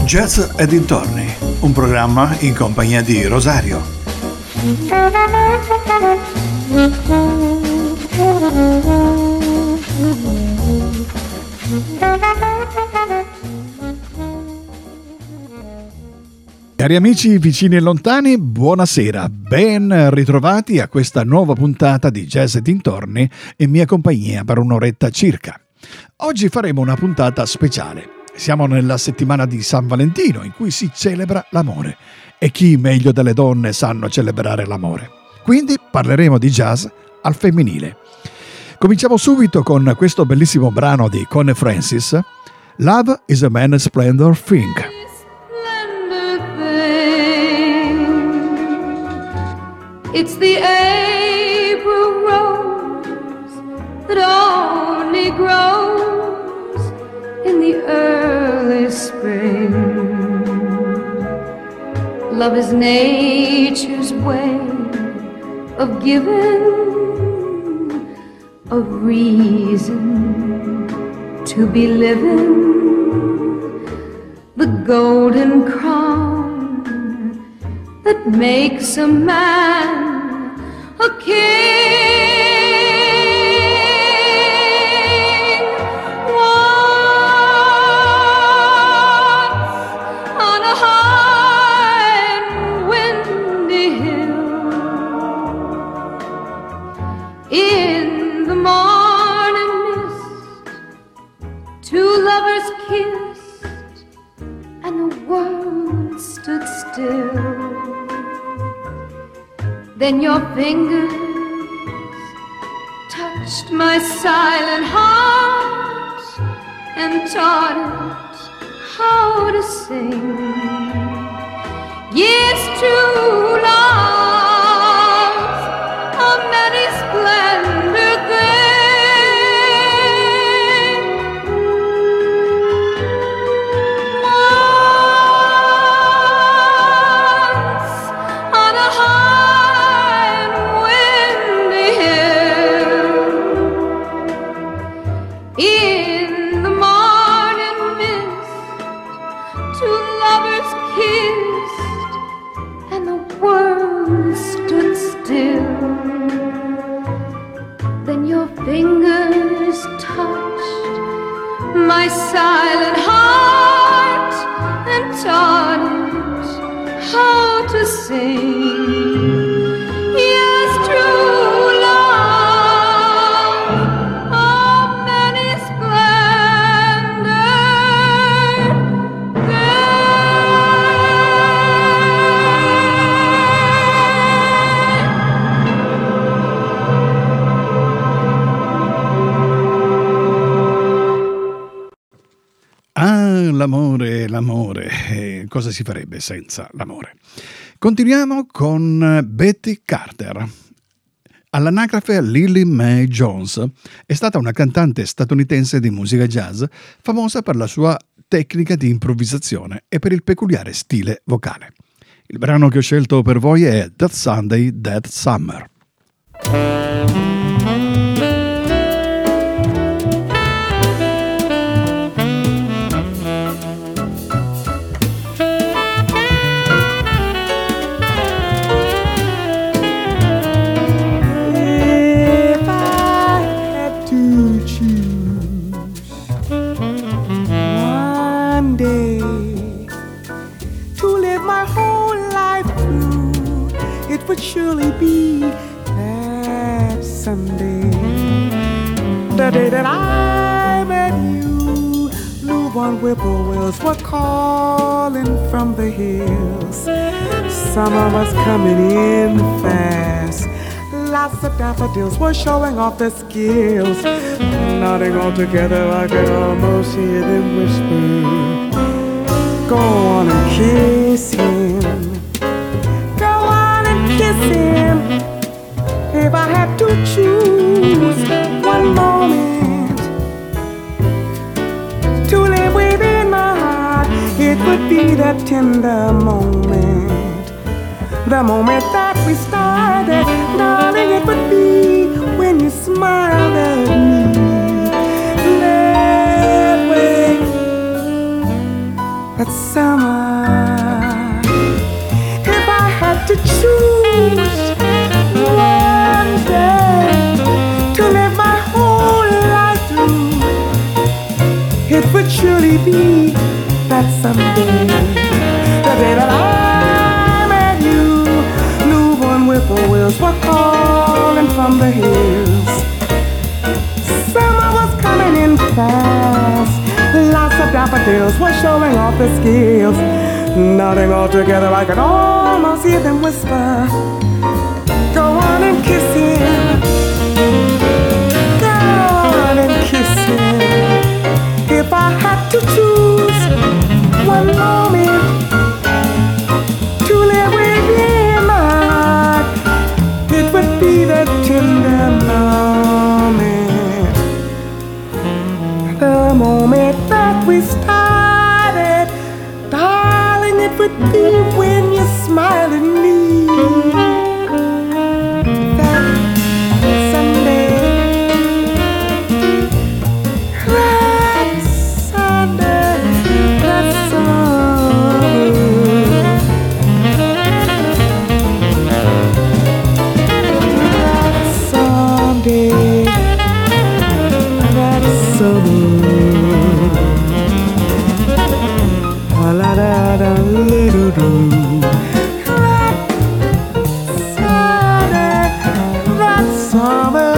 Jazz e dintorni, un programma in compagnia di Rosario. Cari amici vicini e lontani, buonasera, ben ritrovati a questa nuova puntata di Jazz e dintorni in mia compagnia per un'oretta circa. Oggi faremo una puntata speciale. Siamo nella settimana di San Valentino in cui si celebra l'amore e chi meglio delle donne sanno celebrare l'amore. Quindi parleremo di jazz al femminile. Cominciamo subito con questo bellissimo brano di Connie Francis, Love is a Man's Splendor Thing. It's the April rose that only grows in the early spring. Love is nature's way of giving a reason to be living, the golden crown that makes a man a king. Once on a high and windy hill, in the morning mist, two lovers kissed and the world stood still. Then your fingers touched my silent heart and taught it how to sing. Yes, true love's a many splendor thing. Once on a high in the morning mist, two lovers kissed and the world stood still. Then your fingers touched my silent heart and taught it how to sing. Yes, true love, many splendor Ah, l'amore, cosa si farebbe senza l'amore? Continuiamo con Betty Carter. All'anagrafe Lily Mae Jones è stata una cantante statunitense di musica jazz famosa per la sua tecnica di improvvisazione e per il peculiare stile vocale. Il brano che ho scelto per voi è That Sunday, That Summer. Would surely be that Sunday, the day that I met you. Newborn whippoorwills were calling from the hills. Summer was coming in fast. Lots of daffodils were showing off their skills. Nodding all together, I could almost hear them whisper, go on and kiss him. Kiss him. If I had to choose one moment to live within my heart, it would be that tender moment, the moment that we started. Darling, it would be when you smiled at me that way. That summer be that someday, the day that I met you, newborn whippoorwills were calling from the hills. Summer was coming in fast, lots of daffodils were showing off their skills. Nodding all together, I could almost hear them whisper, go on and kiss him, go on and kiss him. If I had to choose one moment to live with him, it would be that tender moment, the moment that we started. Darling, it would be when you smile at me. That Sunday, that Sunday, that summer. That Sunday, that summer. La da da little do. That summer,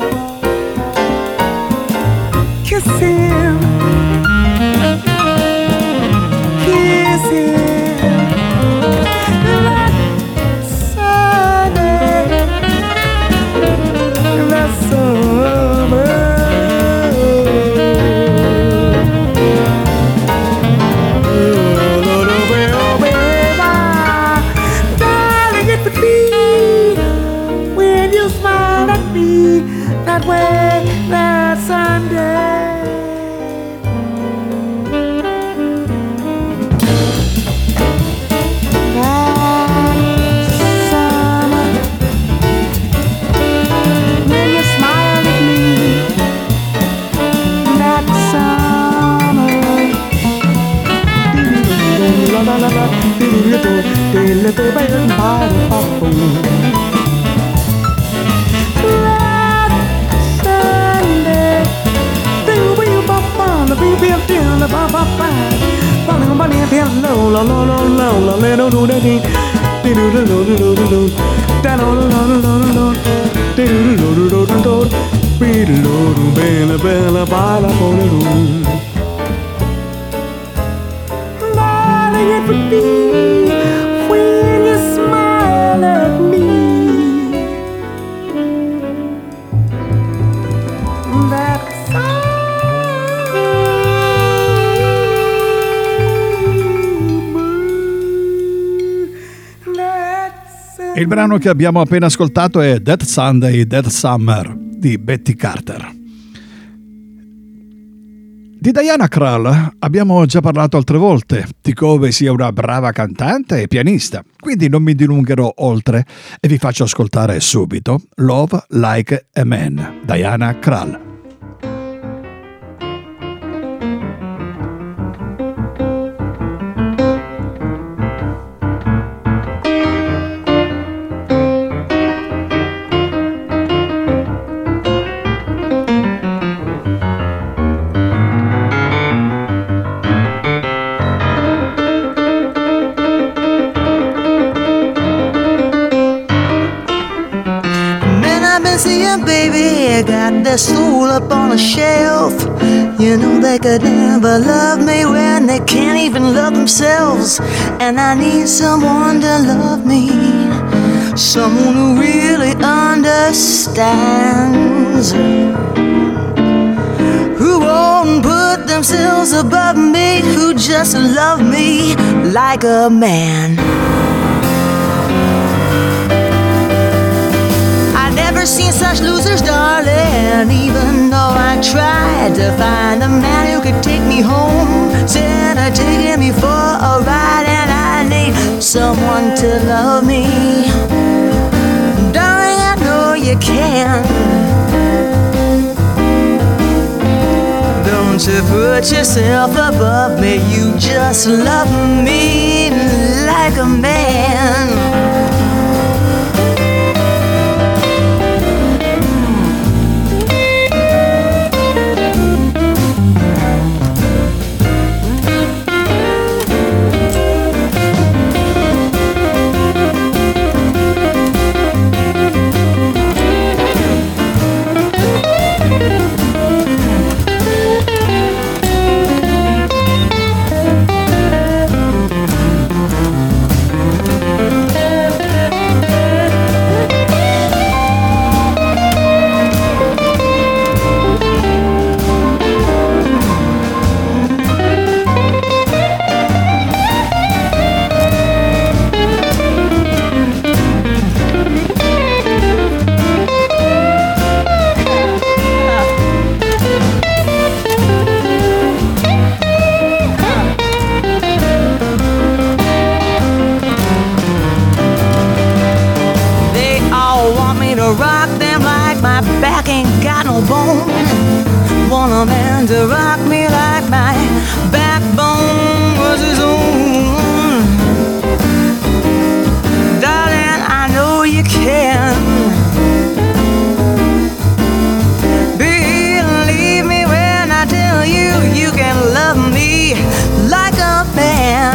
kiss him, kiss him. That Sunday, that summer. That way, that Sunday. That summer, when you smile at me. That summer. La la la la, little baby, my darling, it would be when you smile at me. That Il brano che abbiamo appena ascoltato è That Sunday, That Summer di Betty Carter. Di Diana Krall abbiamo già parlato altre volte, di come sia una brava cantante e pianista, quindi non mi dilungherò oltre e vi faccio ascoltare subito Love Like a Man, Diana Krall. Baby, got their soul up on a shelf. You know they could never love me when they can't even love themselves. And I need someone to love me, someone who really understands, who won't put themselves above me, who just love me like a man. Never seen such losers, darling. Even though I tried to find a man who could take me home, instead of taking me for a ride, and I need someone to love me. Darling, I know you can. Don't you put yourself above me, you just love me like a man. to rock them like my back ain't got no bone. Want a man to rock me like my backbone was his own. Darling, I know you can. Believe me when I tell you, you can love me like a man.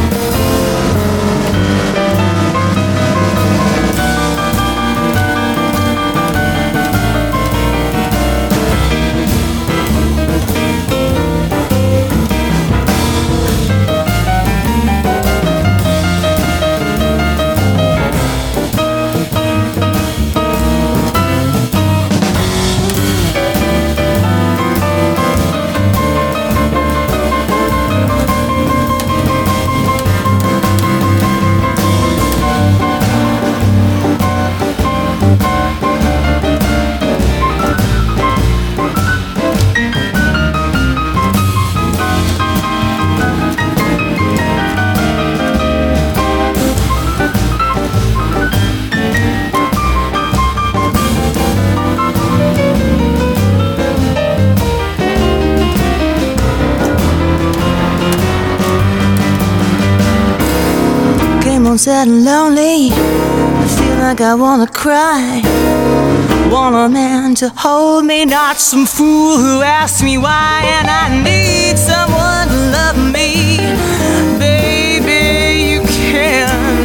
Sad and lonely, I feel like I wanna cry. Want a man to hold me, not some fool who asks me why. And I need someone to love me, baby, you can.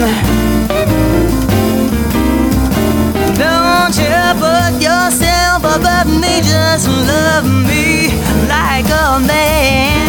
Don't you put yourself above me, just love me like a man.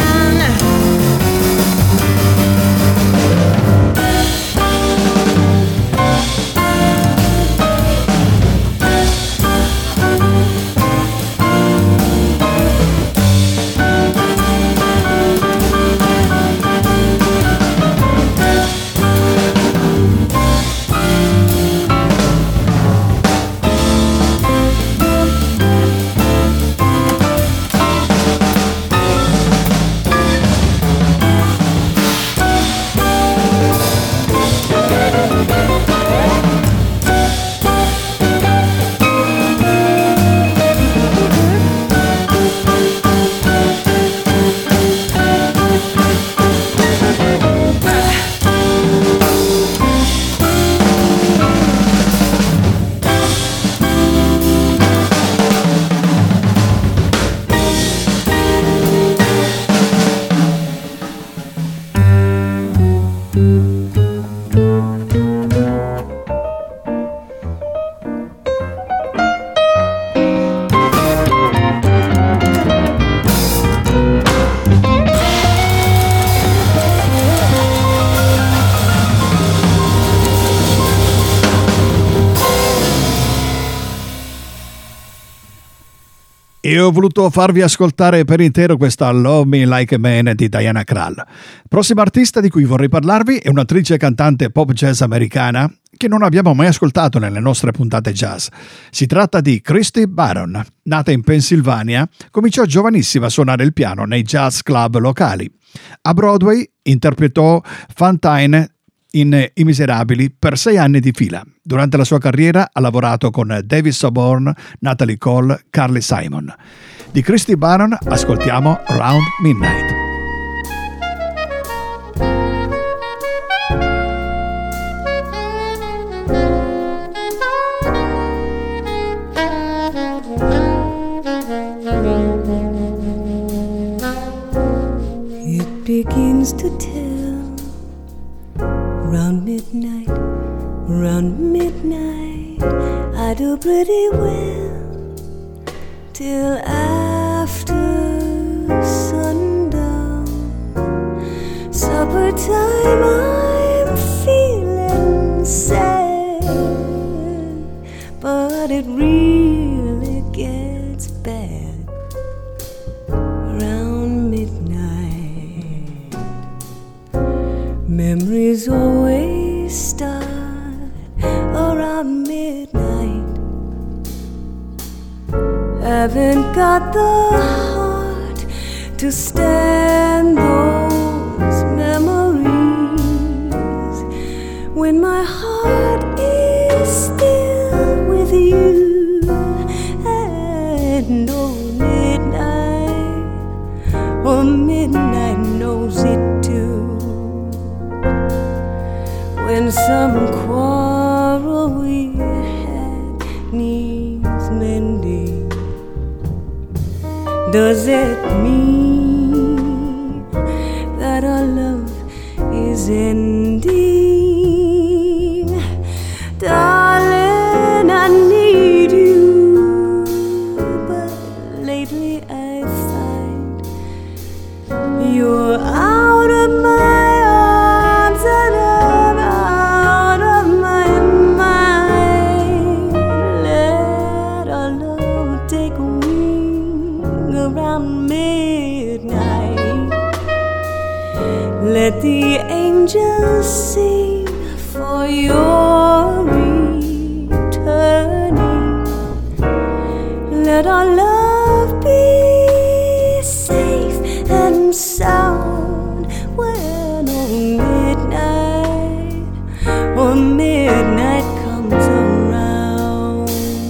E ho voluto farvi ascoltare per intero questa Love Me Like a Man di Diana Krall. Prossima artista di cui vorrei parlarvi è un'attrice e cantante pop jazz americana che non abbiamo mai ascoltato nelle nostre puntate jazz. Si tratta di Christy Barron. Nata in Pennsylvania, cominciò giovanissima a suonare il piano nei jazz club locali. A Broadway interpretò Fantine in I Miserabili per 6 anni di fila. Durante la sua carriera ha lavorato con David Sanborn, Natalie Cole, Carly Simon. Di Christy Barron ascoltiamo Round Midnight. It begins to tell. Round midnight, I do pretty well till after sundown. Supper time, I'm feeling sad, but it really gets bad around midnight. Memories always start around midnight. Haven't got the heart to stand those memories when my heart is still with you. needs mending? Does it mean that our love is ending? Darling, I need you, but lately I find you're out of my arms and I'm out of my mind. Let our love take wing around midnight. Let the angels sing for your returning. Let our love be safe and sound when midnight comes around.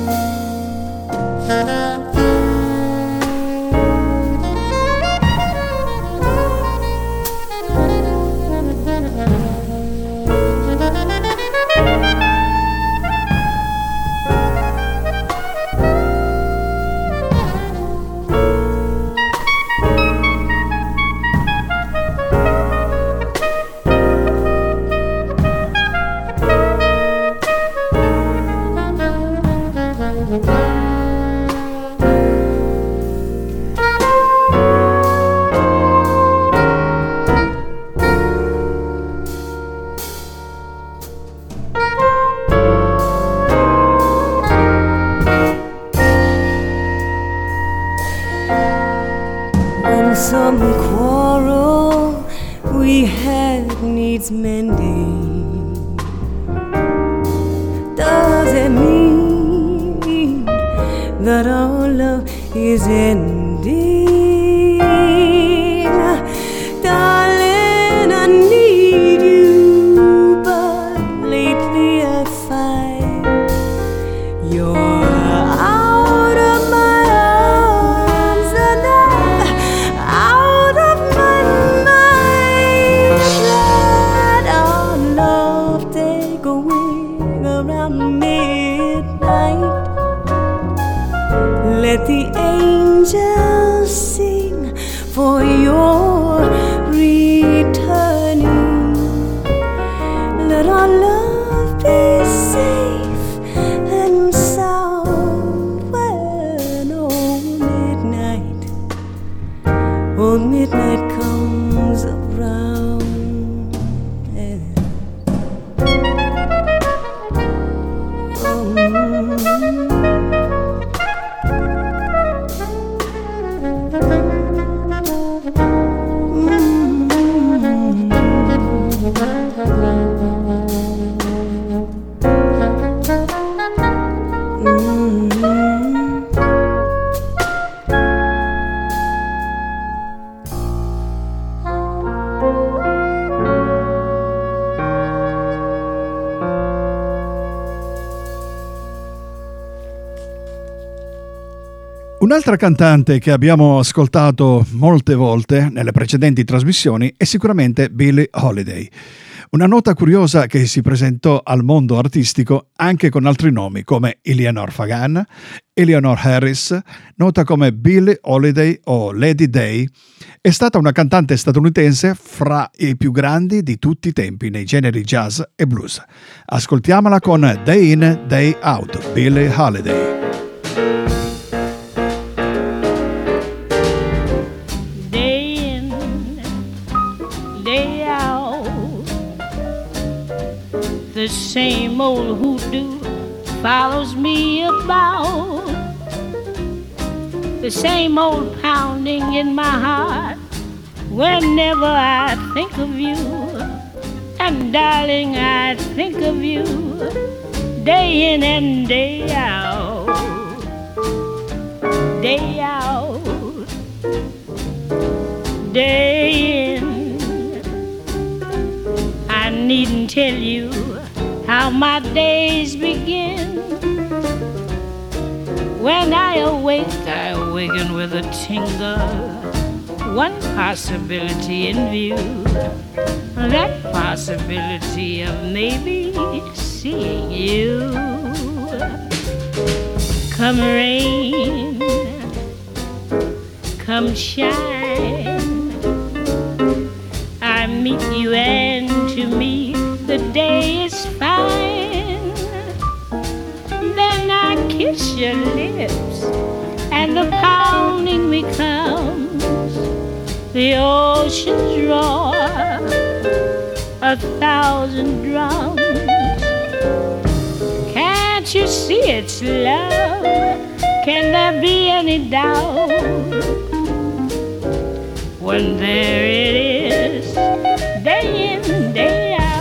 Some quarrel we had needs mending. Does it mean that our love is ending? Darling, I need you, but lately I find you're out of my arms and out of my mind. Let our love take a wing around midnight. Let the angels sing for your returning. Let our love be safe and sound when midnight comes around. Un'altra cantante che abbiamo ascoltato molte volte nelle precedenti trasmissioni è sicuramente Billie Holiday. Una nota curiosa che si presentò al mondo artistico anche con altri nomi come Eleanor Fagan, Eleanor Harris, nota come Billie Holiday o Lady Day, è stata una cantante statunitense fra i più grandi di tutti i tempi nei generi jazz e blues. Ascoltiamola con Day In, Day Out, Billie Holiday. The same old hoodoo follows me about. The same old pounding in my heart whenever I think of you. And darling, I think of you day in and day out. Day out. Day in. I needn't tell you how my days begin. When I awaken with a tingle. One possibility in view, that possibility of maybe seeing you. Come rain, come shine, I meet you and to me the day is fine. Then I kiss your lips and the pounding becomes the ocean's roar, 1,000 drums. Can't you see it's love? Can there be any doubt? When there it is, day in, day out.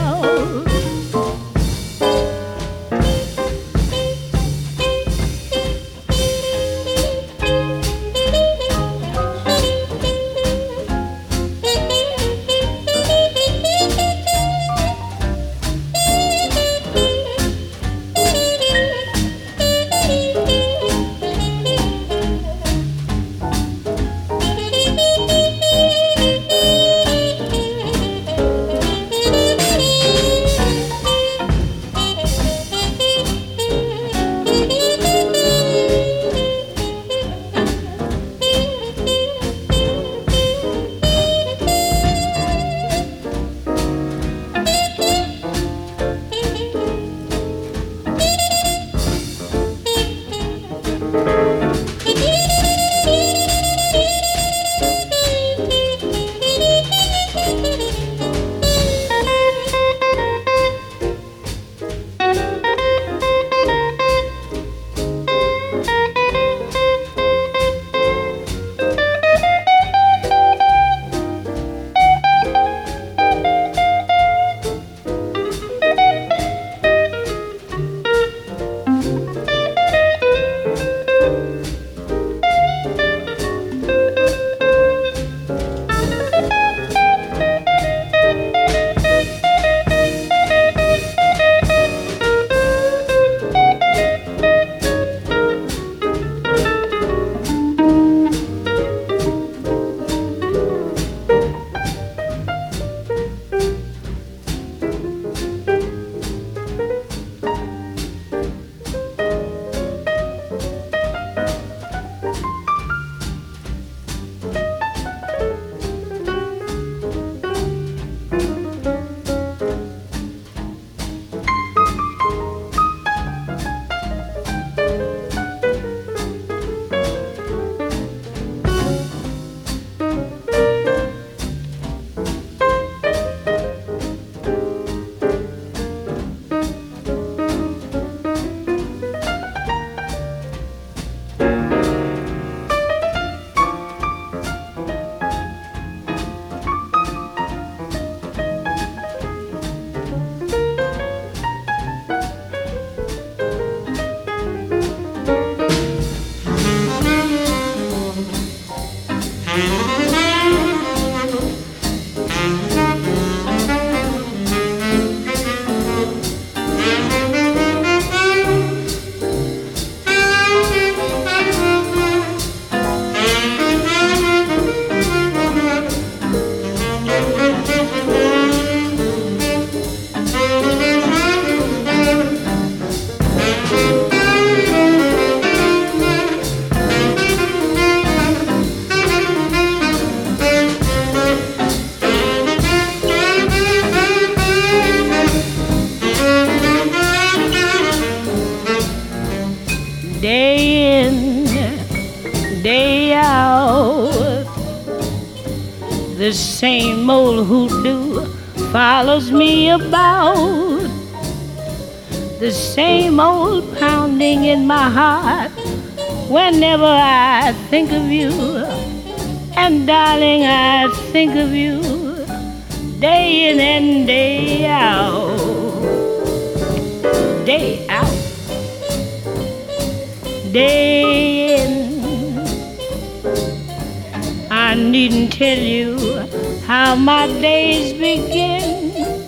Day in, day out, the same old hoodoo follows me about. The same old pounding in my heart whenever I think of you. And darling, I think of you day in and day out. Day out. Day in. I needn't tell you how my days begin.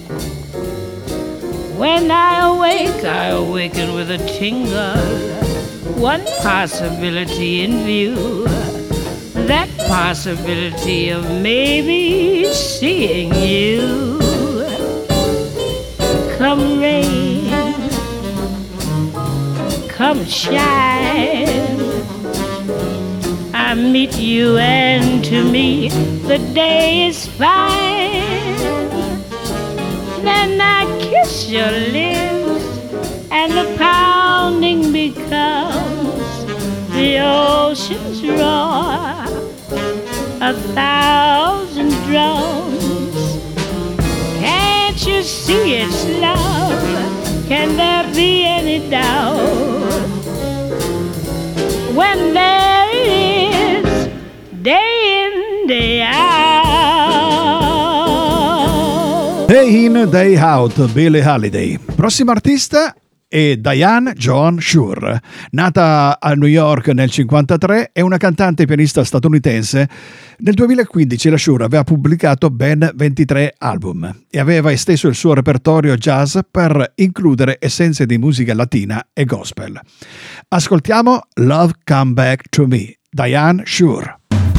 When I awaken with a tingle. One possibility in view, that possibility of maybe seeing you. Come rain, come shine. I meet you and to me the day is fine. Then I kiss your lips and the pounding becomes the ocean's roar, 1,000 drums. Can't you see it's love? Can there be any doubt? When there it is, day in, day out. Day in, day out, Billie Holiday. Prossimo artista è Diane Joan Shure. Nata a New York nel 1953, è una cantante e pianista statunitense. Nel 2015 la Shure aveva pubblicato ben 23 album e aveva esteso il suo repertorio jazz per includere essenze di musica latina e gospel. Ascoltiamo Love Come Back to Me, Diane Shure.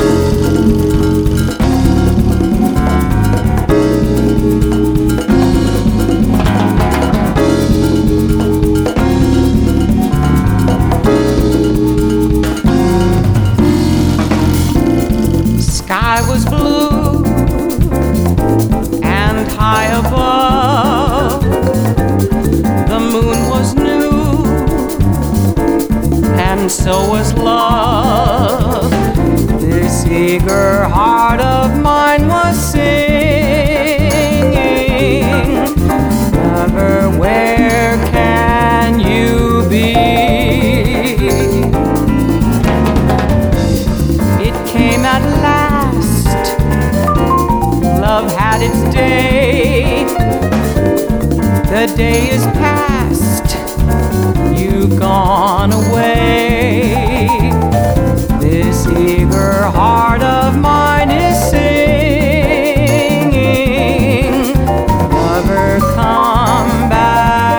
Sky was blue and high above. The moon was new and so was love. This eager heart of mine was singing, lover, where can you be? It came at last, love had its day. The day is past, you've gone away. This eager heart of mine is singing, lover, come back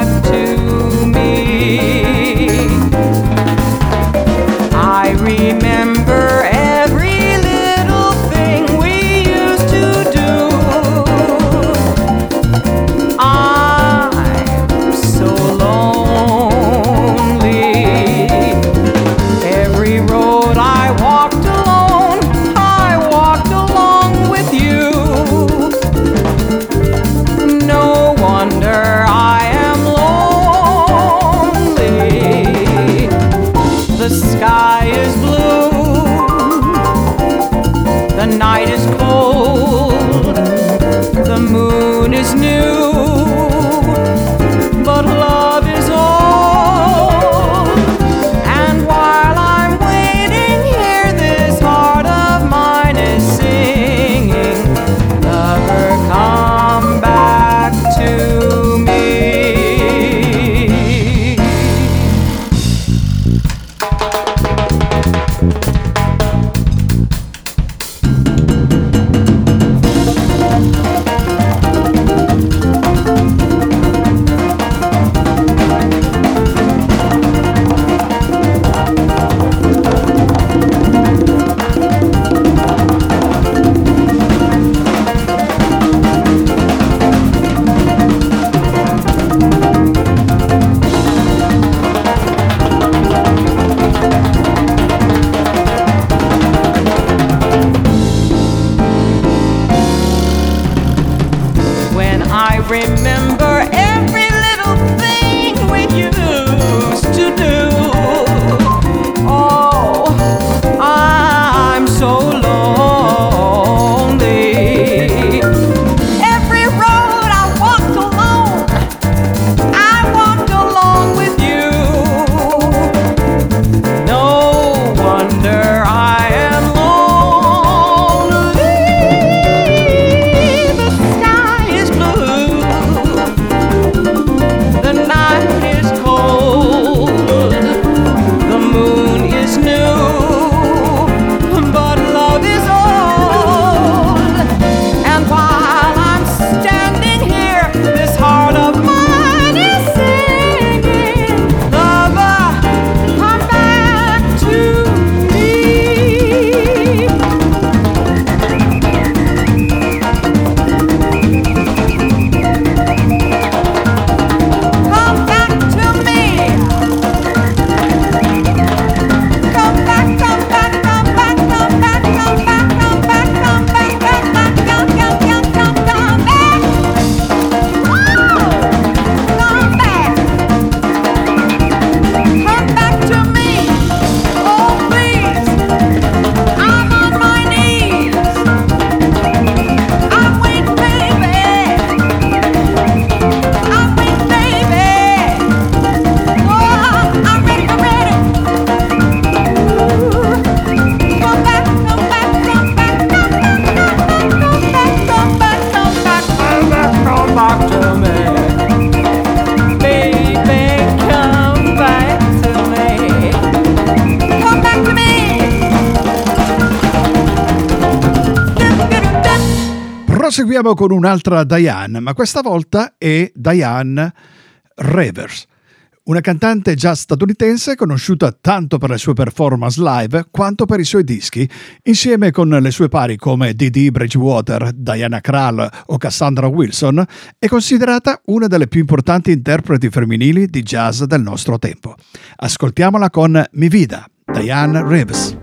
Proseguiamo con un'altra Diane, ma questa volta è Diane Revers, una cantante jazz statunitense conosciuta tanto per le sue performance live quanto per i suoi dischi, insieme con le sue pari come Dee Bridgewater, Diana Krall o Cassandra Wilson, è considerata una delle più importanti interpreti femminili di jazz del nostro tempo. Ascoltiamola con Mi Vida, Diane Revers.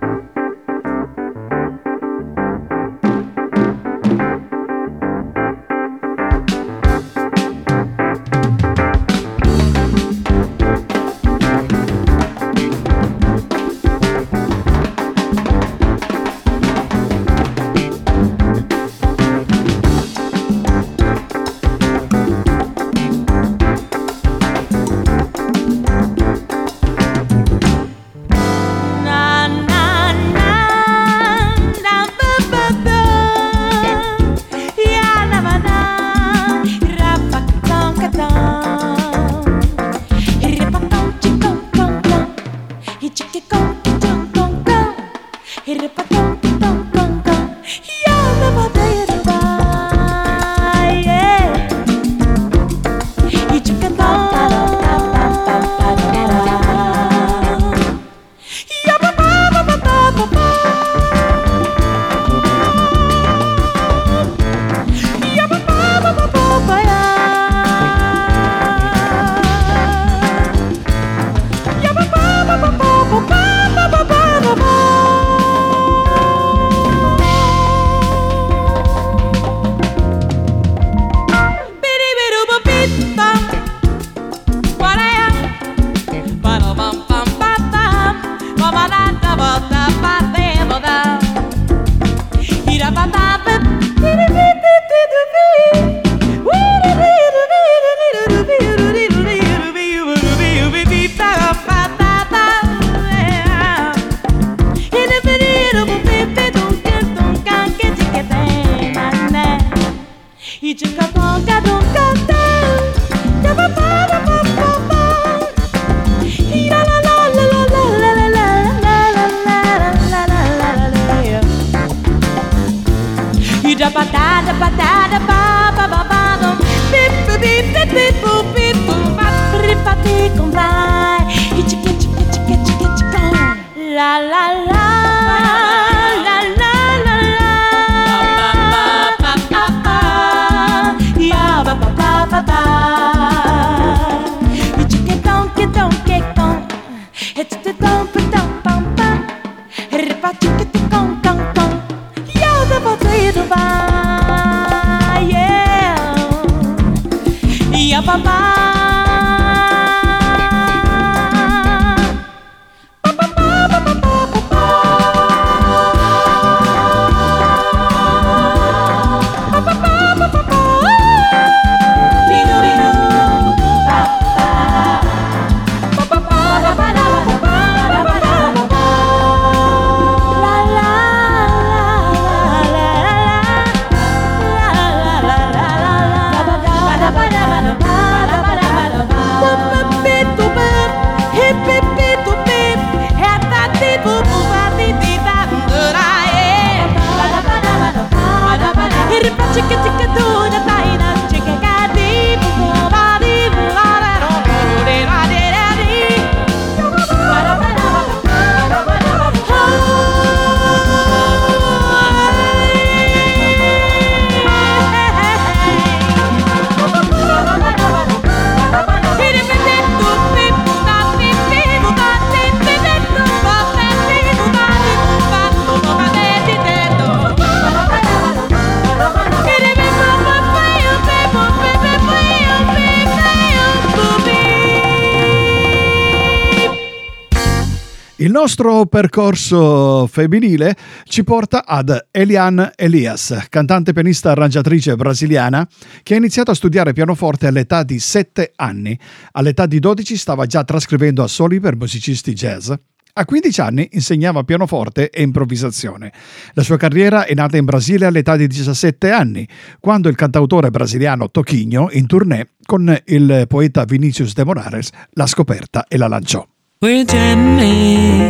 Il nostro percorso femminile ci porta ad Eliane Elias, cantante, pianista, arrangiatrice brasiliana che ha iniziato a studiare pianoforte all'età di 7 anni. All'età di 12 stava già trascrivendo assoli per musicisti jazz. A 15 anni insegnava pianoforte e improvvisazione. La sua carriera è nata in Brasile all'età di 17 anni, quando il cantautore brasiliano Toquinho, in tournée con il poeta Vinicius de Moraes, l'ha scoperta e la lanciò. We're jamming.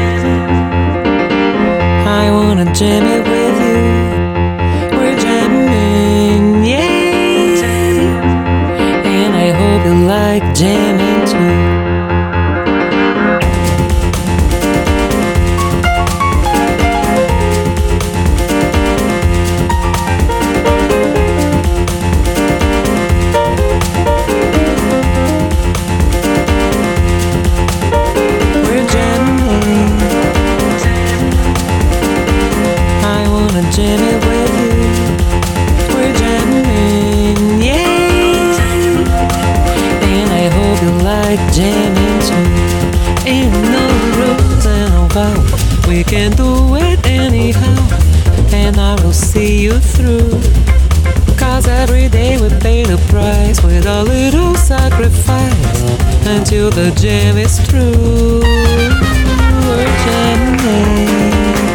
I wanna jam it with you. We're jamming. We can do it anyhow, and I will see you through. 'Cause every day we pay the price with a little sacrifice until the jam is through. We're jamming.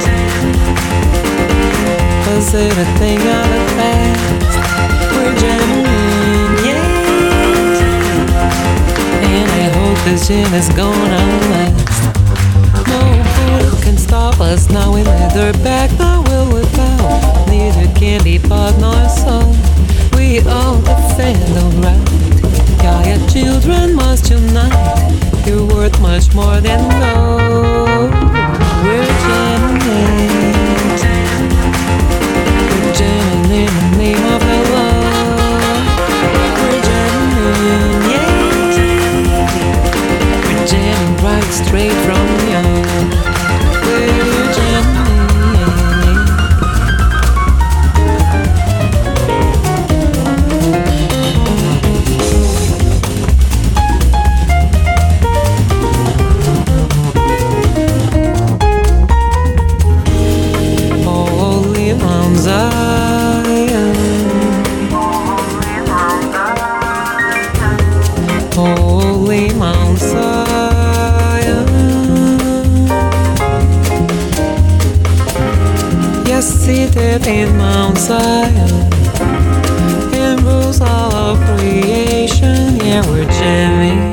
Was it a thing of the past? We're jamming, yeah. And I hope this jam is gonna last. No bullet can stop us now. We neither back nor will we bow. Neither can be bought nor sold. We all defend the right. Yeah, your children must unite. You're worth much more than gold. We're jamming. We're jamming in the name of the Lord. We're jamming, yeah. We're jamming right straight from you. We're jamming. Holy Mount Zion, yes, seated in Mount Zion, and rules all of creation. Yeah, we're jamming.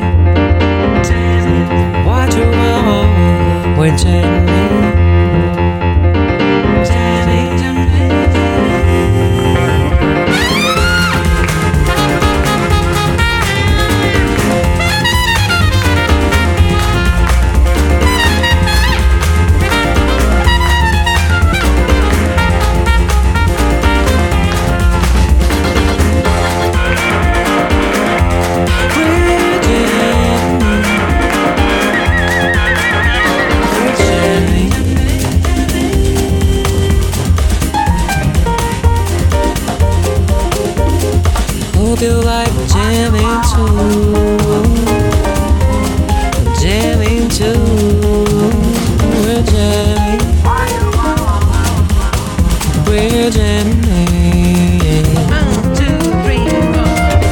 What you want? We're jamming. Hope you like jamming too. Jamming too. We're jamming. We're jamming. 1, 2, 3, 4.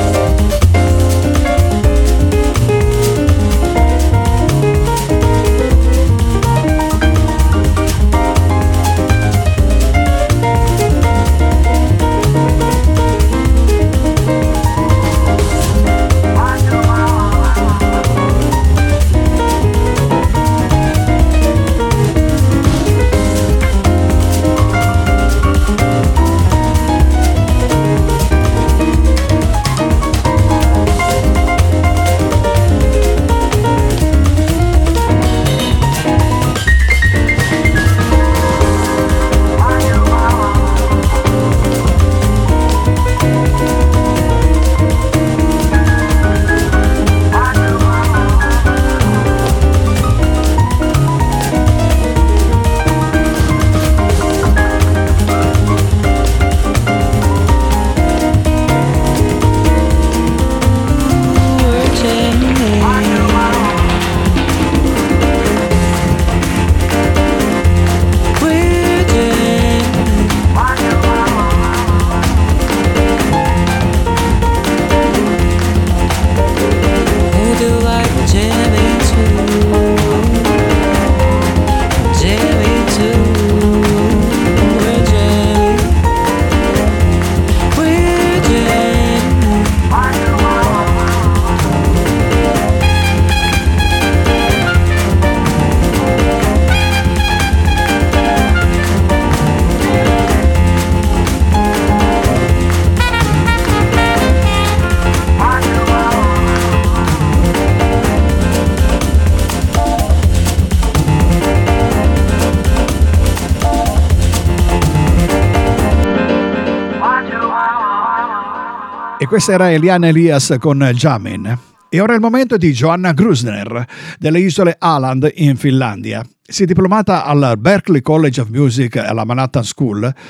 E questa era Eliane Elias con Jamin. E ora è il momento di Joanna Grusner, delle isole Åland in Finlandia. Si è diplomata al Berklee College of Music alla Manhattan School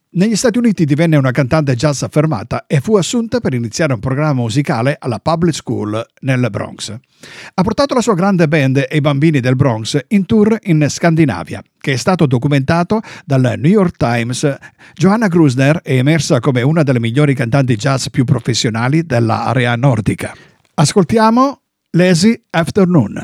Negli Stati Uniti divenne una cantante jazz affermata e fu assunta per iniziare un programma musicale alla Public School nel Bronx. Ha portato la sua grande band e i bambini del Bronx in tour in Scandinavia, che è stato documentato dal New York Times. Johanna Grusner è emersa come una delle migliori cantanti jazz più professionali dell'area nordica. Ascoltiamo Lazy Afternoon.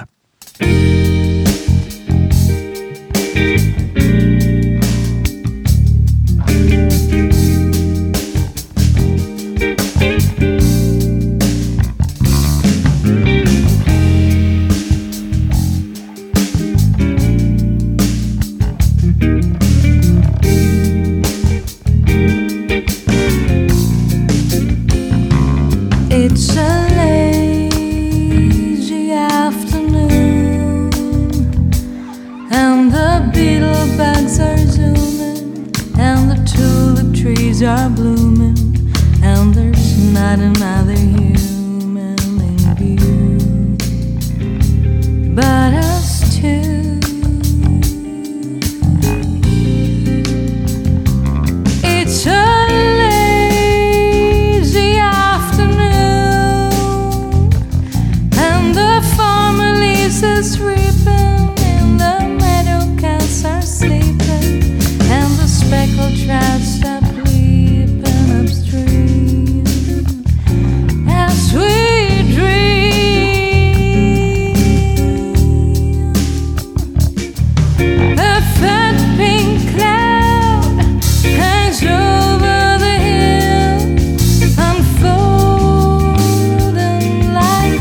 It's a lazy afternoon, and the beetle bugs are zooming, and the tulip trees are blooming, and there's not another human in view but us two. It's a is reaping, and the meadow cats are sleeping, and the speckled trout stop leaping upstream as we dream. A fat pink cloud hangs over the hill, unfolding like a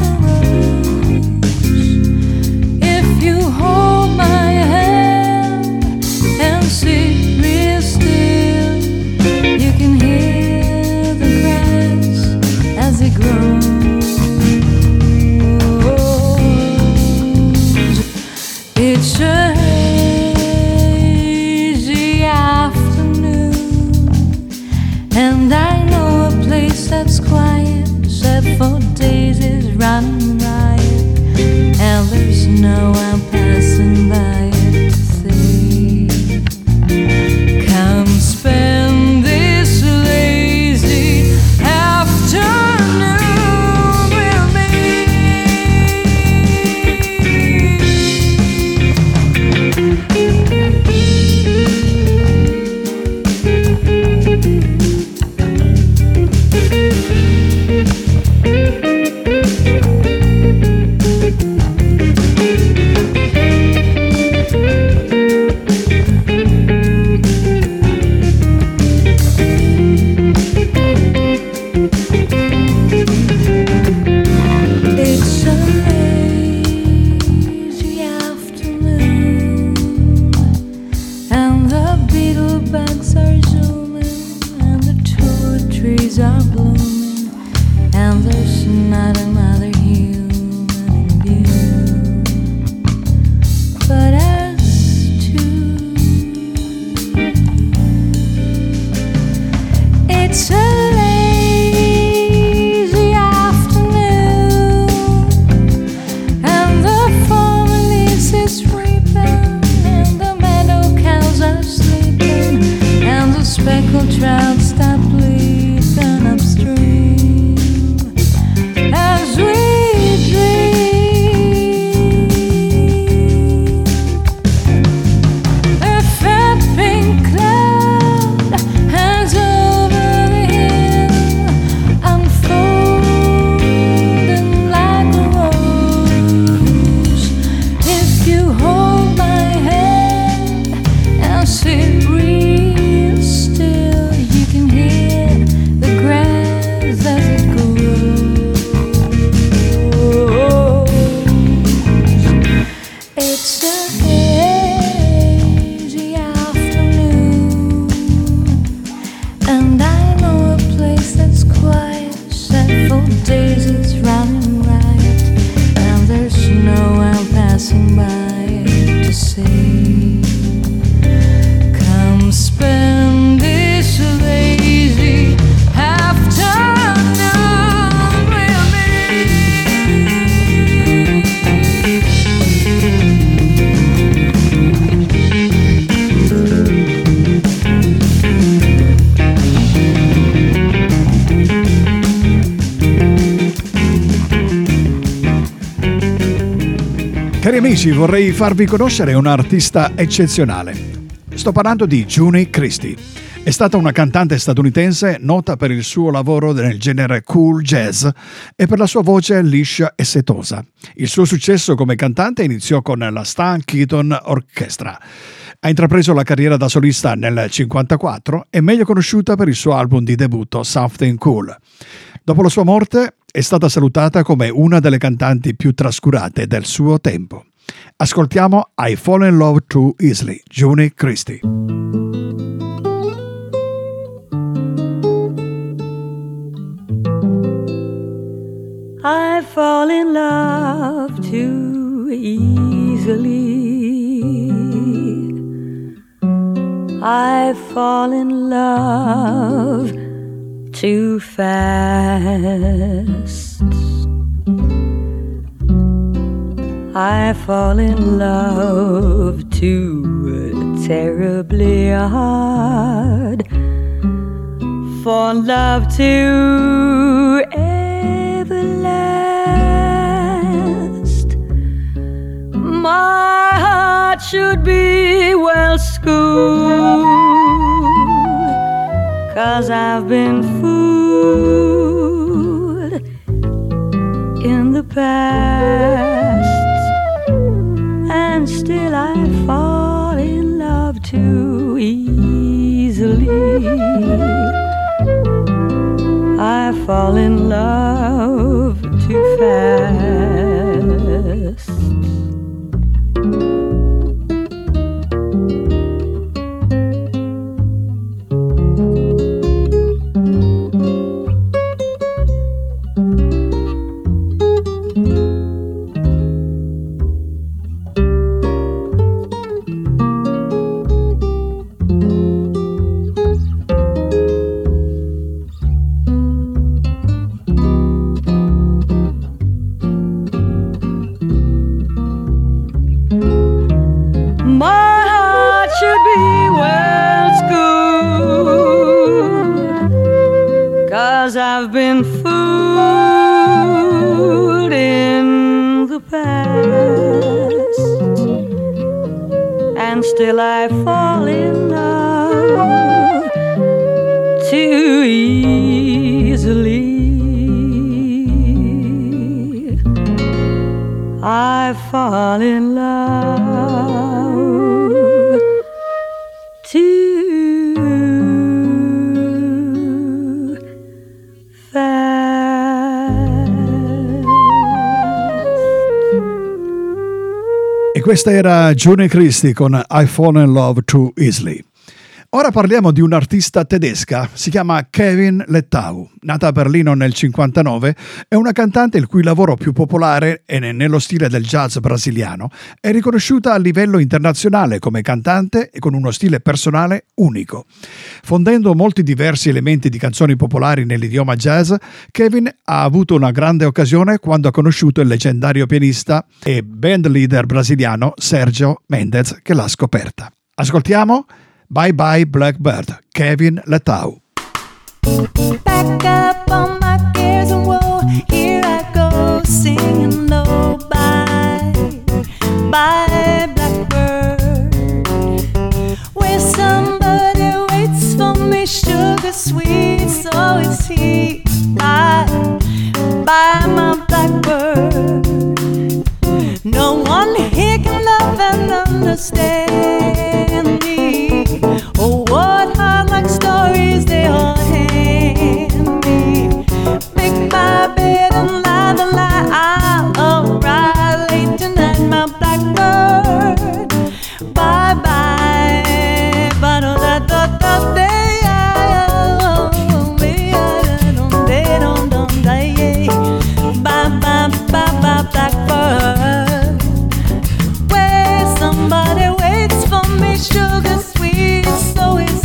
that's quiet, except for daisies running riot, and there's no one passing by it to see. Come spend this lazy afternoon with me. amici, vorrei farvi conoscere un artista eccezionale. Sto parlando di Juni Christie. È stata una cantante statunitense nota per il suo lavoro nel genere cool jazz e per la sua voce liscia e setosa. Il suo successo come cantante iniziò con la Stan Keaton Orchestra. Ha intrapreso la carriera da solista nel 1954 e meglio conosciuta per il suo album di debutto Something Cool. Dopo la sua morte è stata salutata come una delle cantanti più trascurate del suo tempo. Ascoltiamo I Fall in Love Too Easily, Juni Christie. I fall in love too easily. I fall in love too fast. I fall in love too terribly hard for love to ever last. My heart should be well schooled, 'cause I've been fooled in the past, and still I fall in love too easily. I fall in love too fast. I've been fooled in the past, and still I fall in love too easily. I fall in love too Questa era Juni Christie con I Fall in Love Too Easily. Ora parliamo di un'artista tedesca, si chiama Kevin Lettau. Nata a Berlino nel 1959, è una cantante il cui lavoro più popolare è nello stile del jazz brasiliano. È riconosciuta a livello internazionale come cantante e con uno stile personale unico. Fondendo molti diversi elementi di canzoni popolari nell'idioma jazz, Kevin ha avuto una grande occasione quando ha conosciuto il leggendario pianista e band leader brasiliano Sergio Mendes, che l'ha scoperta. Ascoltiamo Bye Bye Blackbird, Kevin Lettau. Back up on my cares and woe, here I go singing low. Bye, bye blackbird, where somebody waits for me, sugar sweet, so is he. Bye, bye my blackbird, no one here can love and understand me. Oh, what heart-like stories they all hand me. Make my bed and lie the lie, I'll arrive late tonight, my blackbird. Bye-bye, ba-da-da-da-da-day. Bye-bye, blackbird, where somebody waits for me, sugar sweet, so is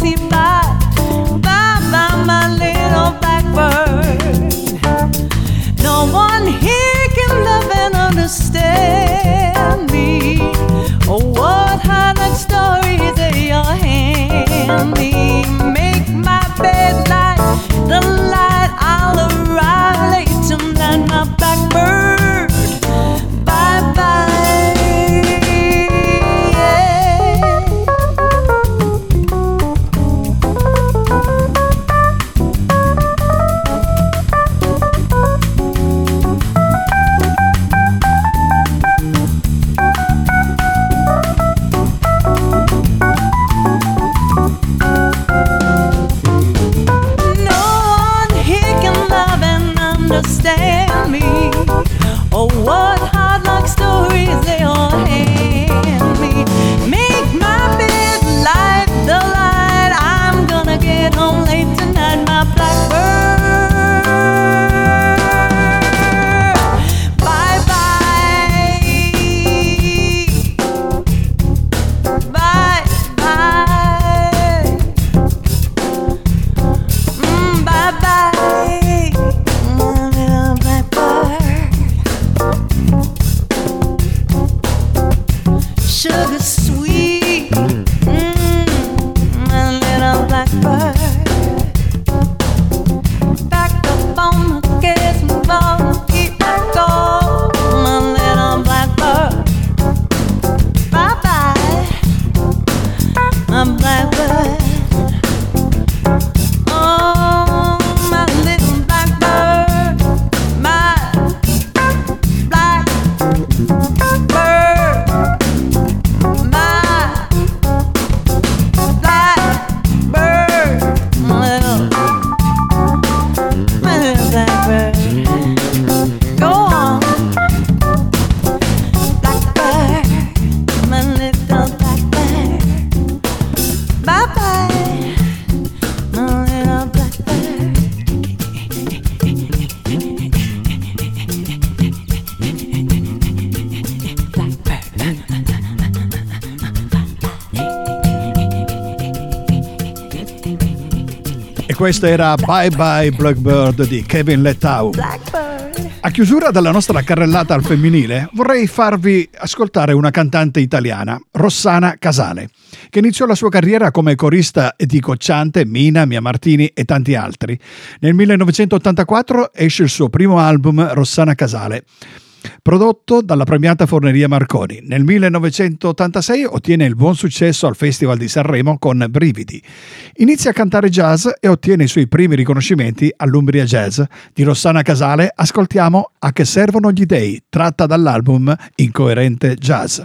Questo era Bye Bye Blackbird di Kevin Lettau. A chiusura della nostra carrellata al femminile vorrei farvi ascoltare una cantante italiana, Rossana Casale, che iniziò la sua carriera come corista di Cocciante, Mina, Mia Martini e tanti altri. Nel 1984 esce il suo primo album, Rossana Casale, prodotto dalla premiata Forneria Marconi. Nel 1986 ottiene il buon successo al Festival di Sanremo con Brividi. Inizia a cantare jazz e ottiene i suoi primi riconoscimenti all'Umbria Jazz. Di Rossana Casale ascoltiamo A che servono gli dei, tratta dall'album Incoerente Jazz.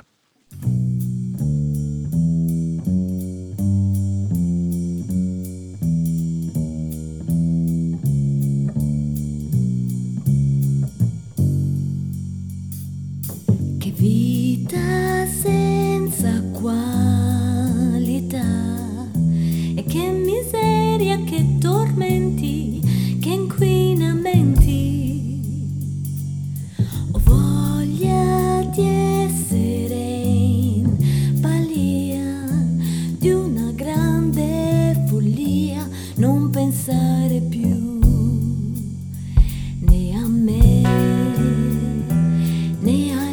Vita senza qualità e che miseria, che tormenti, che inquinamenti. Ho voglia di essere in balia di una grande follia, non pensare più né a me né a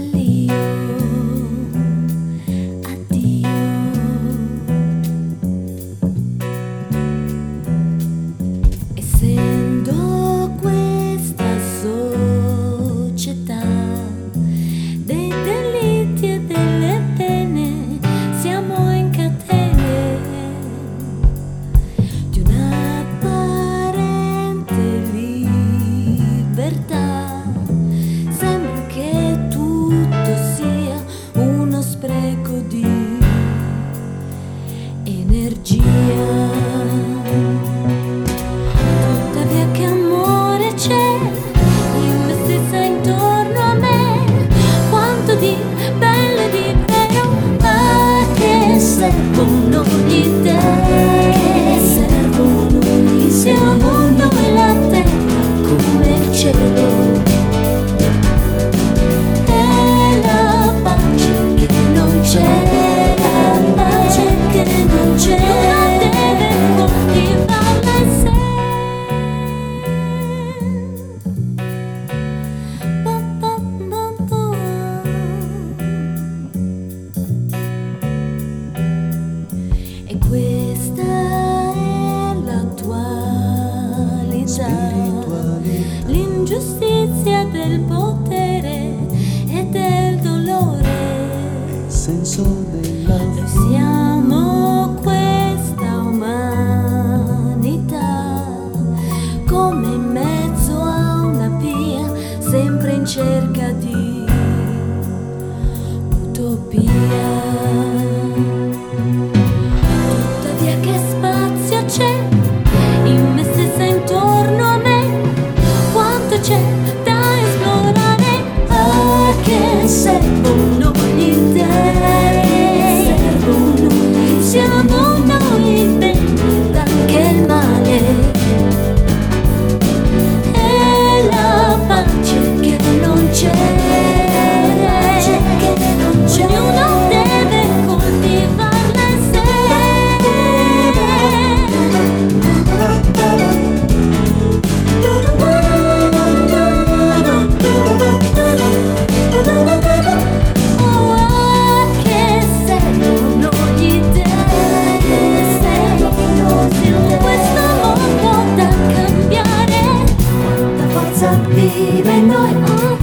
vive in noi,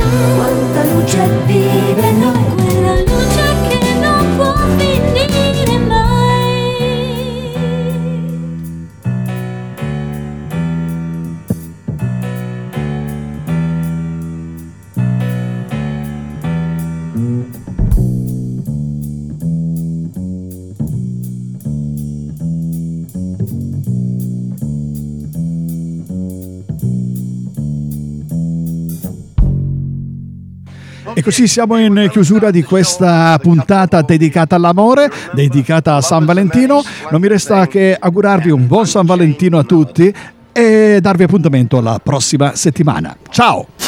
quanta luce vive in noi, quella luce che non può finire mai. E così siamo in chiusura di questa puntata dedicata all'amore, dedicata a San Valentino. Non mi resta che augurarvi un buon San Valentino a tutti e darvi appuntamento la prossima settimana. Ciao!